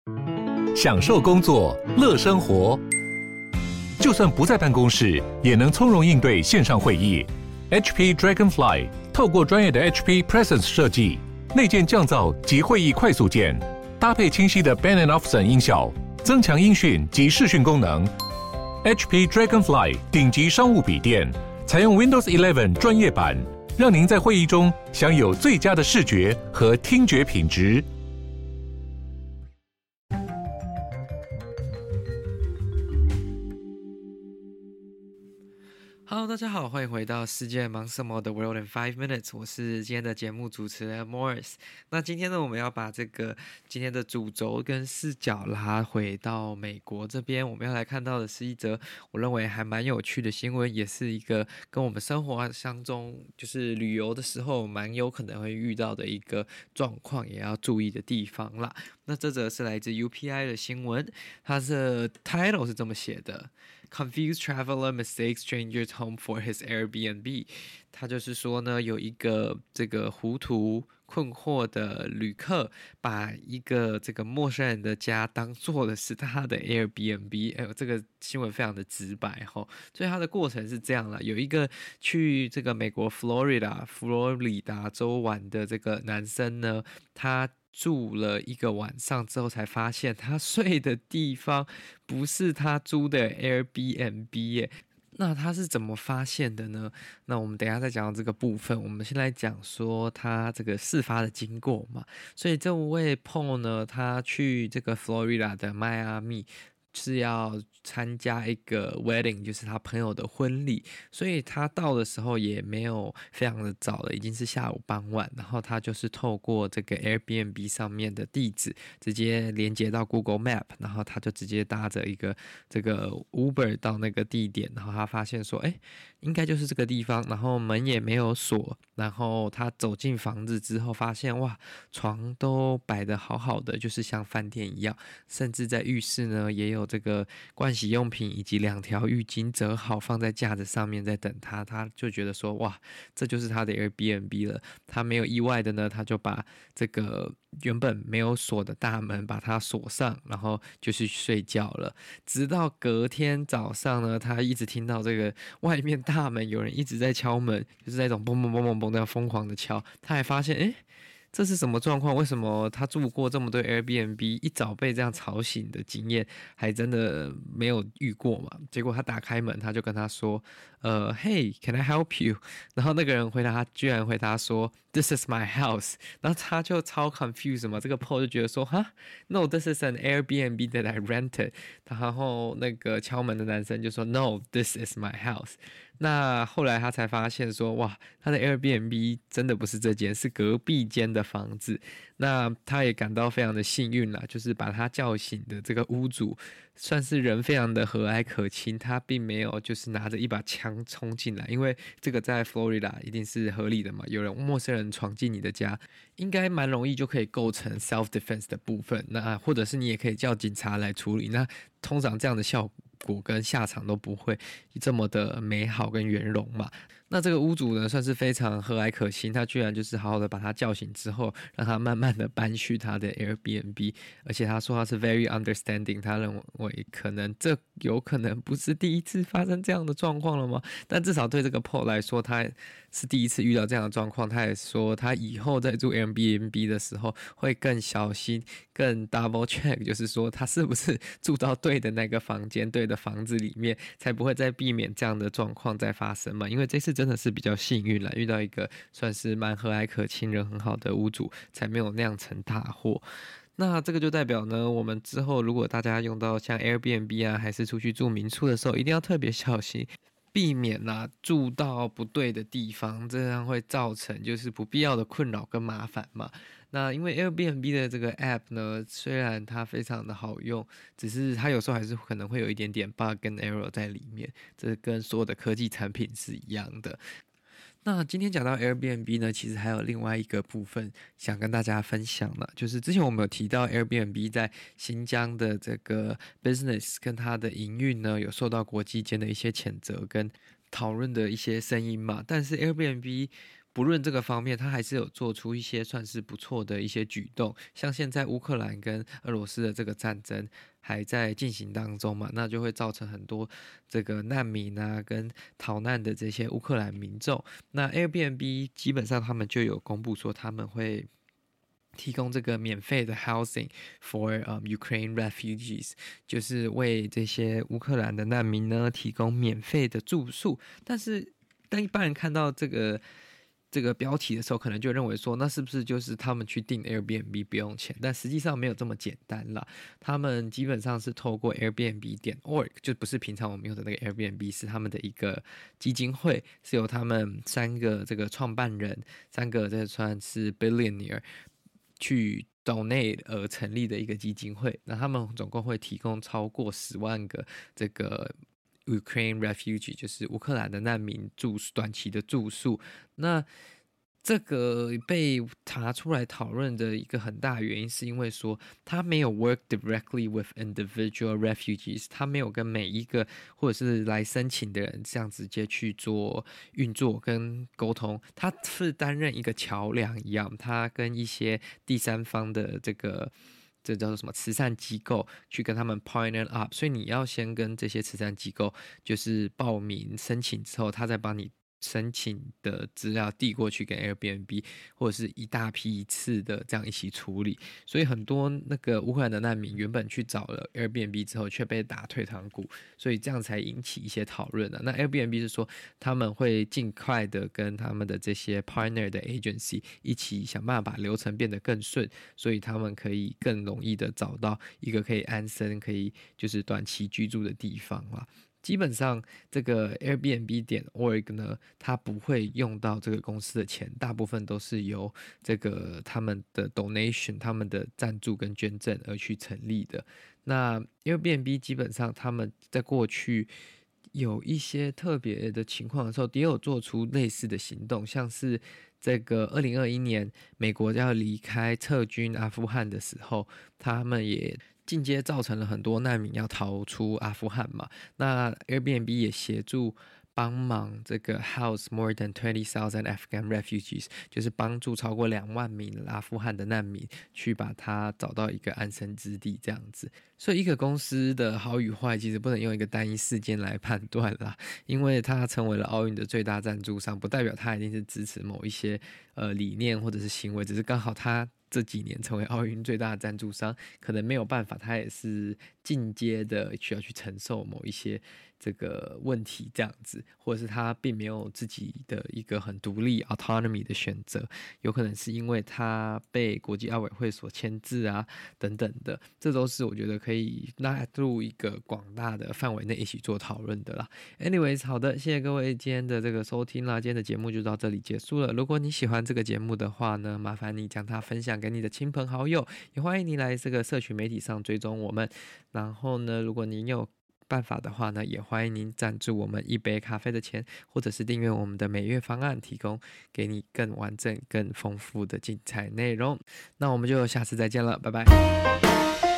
享受工作，樂生活。就算不在辦公室，也能從容應對線上會議。HP Dragonfly 透過專業的 HP Presence 設計，內建降噪及會議快速鍵，搭配清晰的 Bang & Olufsen 音效，增強音訊及視訊功能。HP Dragonfly 頂級商務筆電，採用 Windows 11專業版，讓您在會議中享有最佳的視覺和聽覺品質。 Hello， 大家好，歡迎回到世界忙什麼的 World in 5 Minutes， 我是今天的節目主持人 Morris。那今天呢，我們要把這個今天的主軸跟視角拉回到美國這邊，我們要來看到的是一則我認為還蠻有趣的新聞，也是一個跟我們生活當中就是旅遊的時候蠻有可能會遇到的一個狀況，也要注意的地方啦。那這則是來自 UPI 的新聞，它的 title 是這麼寫的。Confused traveler mistakes stranger's home for his Airbnb。他就是說呢，有一個這個糊塗困惑的旅客，把一個這個陌生人的家當做的是他的 Airbnb。哎呦，這個新聞非常的直白齁。所以他的過程是這樣啦，有一個去這個美國佛羅里達州玩的這個男生呢，他住了一個晚上之後，才發現他睡的地方不是他租的 Airbnb 耶。那他是怎麼發現的呢？那我們等一下再講到這個部分。我們先來講說他這個事發的經過嘛。所以這位 Paul 呢，他去這個佛羅里達的邁阿密，是要參加一個 wedding， 就是他朋友的婚禮，所以他到的時候也沒有非常的早了，已經是下午傍晚，然後他就是透過這個 Airbnb 上面的地址直接連接到 Google Map， 然後他就直接搭着一個這個 Uber 到那個地點，然後他發現說，應該就是這個地方，然後門也沒有鎖，然後他走進房子之後發現，哇，床都擺得好好的，就是像飯店一樣，甚至在浴室呢也有這個盥洗用品以及2條浴巾折好放在架子上面在等他，他就覺得說，哇，這就是他的 Airbnb 了。他沒有意外的呢，他就把這個原本沒有鎖的大門把它鎖上，然後就去睡覺了。直到隔天早上呢，他一直聽到這個外面大門有人一直在敲門，就是那種嘣嘣嘣嘣嘣那樣瘋狂的敲。他還發現，這是什麼狀況？為什麼他住過這麼多 Airbnb， 一早被這樣吵醒的經驗還真的沒有遇過嘛？結果他打開門，他就跟他說，Hey, can I help you？ 然後那個人居然回答說 This is my house。 然後他就超 confused 嘛，這個 Paul 就覺得說No, this is an Airbnb that I rented。 然後那個敲門的男生就說 No, this is my house。那後來他才發現說，哇，他的 Airbnb 真的不是這間，是隔壁間的房子。那他也感到非常的幸運啦，就是把他叫醒的這個屋主算是人非常的和藹可親，他並沒有就是拿着一把槍衝進來，因為這個在佛羅里達一定是合理的嘛，有人陌生人闖進你的家，應該蠻容易就可以構成 self defense 的部分，那或者是你也可以叫警察來處理，那通常這樣的效果跟下場都不會這麼的美好跟圓融嘛。那這個屋主呢，算是非常和藹可親，他居然就是好好的把他叫醒之後，讓他慢慢的搬去他的 Airbnb， 而且他說他是 very understanding， 他認為這有可能不是第一次發生這樣的狀況了嗎？但至少對這個 Paul 來說，他是第一次遇到這樣的狀況，他也說他以後在住 Airbnb 的時候會更小心，更 double check， 就是說他是不是住到對的那個房間、對的房子裡面，才不會再避免這樣的狀況再發生嘛。因為這次真的是比較幸運啦，遇到一個算是蠻和藹可親、人很好的屋主，才沒有釀成大禍。那這個就代表呢，我們之後如果大家用到像 Airbnb 啊，還是出去住民宿的時候，一定要特別小心，避免住到不對的地方，這樣會造成就是不必要的困擾跟麻煩嘛。那因為 Airbnb 的這個 app 呢，雖然它非常的好用，只是它有時候還是可能會有一點點 bug 跟 error 在裡面，這跟所有的科技產品是一樣的。那今天講到 Airbnb 呢，其實還有另外一個部分想跟大家分享了，就是之前我們有提到 Airbnb 在新疆的這個 business 跟它的營運呢，有受到國際間的一些譴責跟討論的一些聲音嘛，但是 Airbnb 不論這個方面，他還是有做出一些算是不錯的一些舉動，像現在烏克蘭跟俄羅斯的這個戰爭還在進行當中嘛，那就會造成很多這個難民啊跟逃難的這些烏克蘭民眾。那 Airbnb 基本上他們就有公布說他們會提供這個免費的 housing for Ukraine refugees， 就是為這些烏克蘭的難民呢提供免費的住宿。但一般人看到這個標題的時候，可能就認為說，那是不是就是他們去訂 Airbnb 不用錢？但實際上沒有這麼簡單啦。他們基本上是透過 Airbnb.org， 就不是平常我們用的那個 Airbnb， 是他們的一個基金會，是由他們3個這個創辦人，3個這算是 billionaire 去 donate 而成立的一個基金會。那他們總共會提供超過10萬個這個Ukraine refugee， 就是烏克蘭的難民短期的住宿。那這個被拿出來討論的一個很大的原因，是因為說他沒有 work directly with individual refugees， 他沒有跟每一個或者是來申請的人這樣直接去做運作跟溝通，他是擔任一個橋樑一樣，他跟一些第三方的這叫做什麼慈善機構去跟他們 partner up， 所以你要先跟這些慈善機構就是報名申請之後，他再幫你申請的資料遞過去給 Airbnb， 或者是一大批一次的這樣一起處理。所以很多那個烏克蘭的難民原本去找了 Airbnb 之後，卻被打退堂鼓，所以這樣才引起一些討論。那 Airbnb 是說他們會盡快的跟他們的這些 partner 的 agency 一起想辦法把流程變得更順，所以他們可以更容易的找到一個可以安身、可以就是短期居住的地方啦。基本上，這個 Airbnb.org 呢，它不會用到這個公司的錢，大部分都是由這個他們的 donation、他們的贊助跟捐贈而去成立的。那 Airbnb 基本上他們在過去有一些特別的情況的時候，也有做出類似的行動，像是這個2021年美國要離開撤軍阿富汗的時候，他們也間接造成了很多難民要逃出阿富汗嘛。那 Airbnb 也協助幫忙這個 house more than 20,000 Afghan refugees， 就是幫助超過2萬名阿富汗的難民去把他找到一個安身之地這樣子。所以一個公司的好與壞其實不能用一個單一事件來判斷啦，因為他成為了奧運的最大贊助商，不代表他一定是支持某一些理念或者是行為，只是剛好他這幾年成為奧運最大的贊助商，可能沒有辦法，他也是進階的需要去承受某一些這個問題這樣子，或者是他並沒有自己的一個很獨立 autonomy 的選擇，有可能是因為他被國際奧委會所牽制啊等等的，這都是我覺得可以納入一個廣大的範圍內一起做討論的啦。Anyways， 好的，謝謝各位今天的這個收聽啦，今天的節目就到這裡結束了。如果你喜歡這個節目的話呢，麻煩你將它分享給你的親朋好友，也歡迎你來這個社群媒體上追蹤我們。然後呢，如果您有辦法的話呢，也歡迎您贊助我們一杯咖啡的錢，或者是訂閱我們的每月方案，提供給你更完整、更豐富的精彩內容。那我們就下次再見了，拜拜。